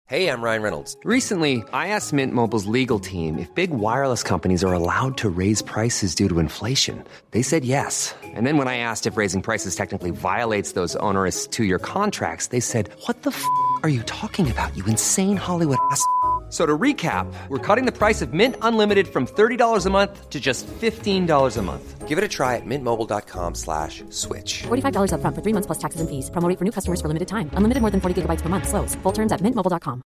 Hey, I'm Ryan Reynolds. Recently, I asked Mint Mobile's legal team if big wireless companies are allowed to raise prices due to inflation. They said yes. And then when I asked if raising prices technically violates those onerous two-year contracts, they said, "What the f*** are you talking about, you insane Hollywood ass?" So to recap, we're cutting the price of Mint Unlimited from $30 a month to just $15 a month. Give it a try at mintmobile.com/switch. $45 up front for 3 months plus taxes and fees. Promo rate for new customers for limited time. Unlimited more than 40 gigabytes per month. Slows full terms at mintmobile.com.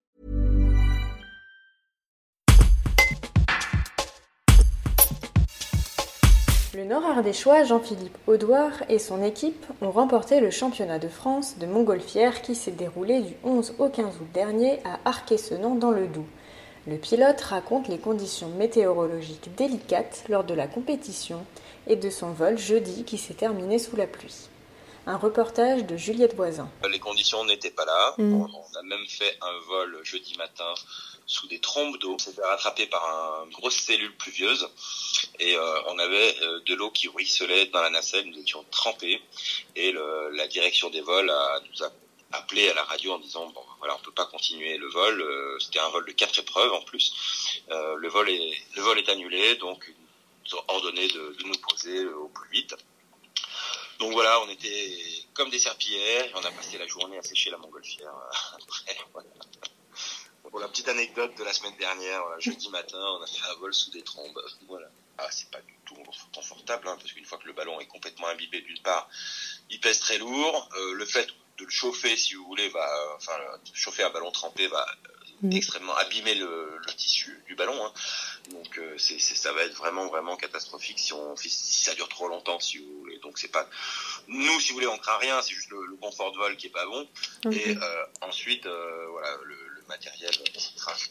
Le Nord-Ardéchois Jean-Philippe Audouard et son équipe ont remporté le championnat de France de montgolfière qui s'est déroulé du 11 au 15 août dernier à Arquet-Senan dans le Doubs. Le pilote raconte les conditions météorologiques délicates lors de la compétition et de son vol jeudi qui s'est terminé sous la pluie. Un reportage de Juliette Voisin. Les conditions n'étaient pas là. On a même fait un vol jeudi matin sous des trombes d'eau. On s'est fait rattraper par une grosse cellule pluvieuse et on avait de l'eau qui ruisselait dans la nacelle. Nous étions trempés et la direction des vols nous a appelé à la radio en disant bon voilà, on peut pas continuer le vol. C'était un vol de 4 épreuves en plus. Le vol est annulé, donc ils nous ont ordonné de nous poser au plus vite. Donc voilà, on était comme des serpillères et on a passé la journée à sécher la montgolfière. Après, voilà. Pour la petite anecdote de la semaine dernière, jeudi matin, on a fait un vol sous des trombes. Voilà. Ah, c'est pas du tout confortable, parce qu'une fois que le ballon est complètement imbibé d'une part, il pèse très lourd. Le fait de le chauffer, si vous voulez, chauffer un ballon trempé va extrêmement abîmer le tissu du ballon. Donc ça va être vraiment vraiment catastrophique si ça dure trop longtemps, si vous voulez. Donc c'est pas nous, si vous voulez, on craint rien, c'est juste le confort de vol qui est pas bon. Et ensuite voilà, le matériel crache.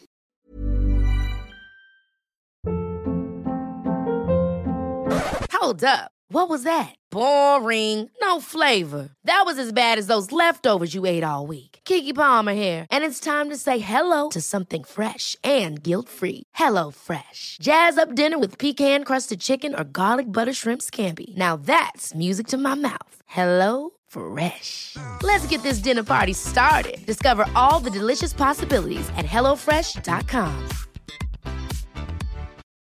Hold up. What was that? Boring. No flavor. That was as bad as those leftovers you ate all week. Keke Palmer here, and it's time to say hello to something fresh and guilt-free. Hello Fresh. Jazz up dinner with pecan-crusted chicken or garlic butter shrimp scampi. Now that's music to my mouth. Hello Fresh. Let's get this dinner party started. Discover all the delicious possibilities at hellofresh.com.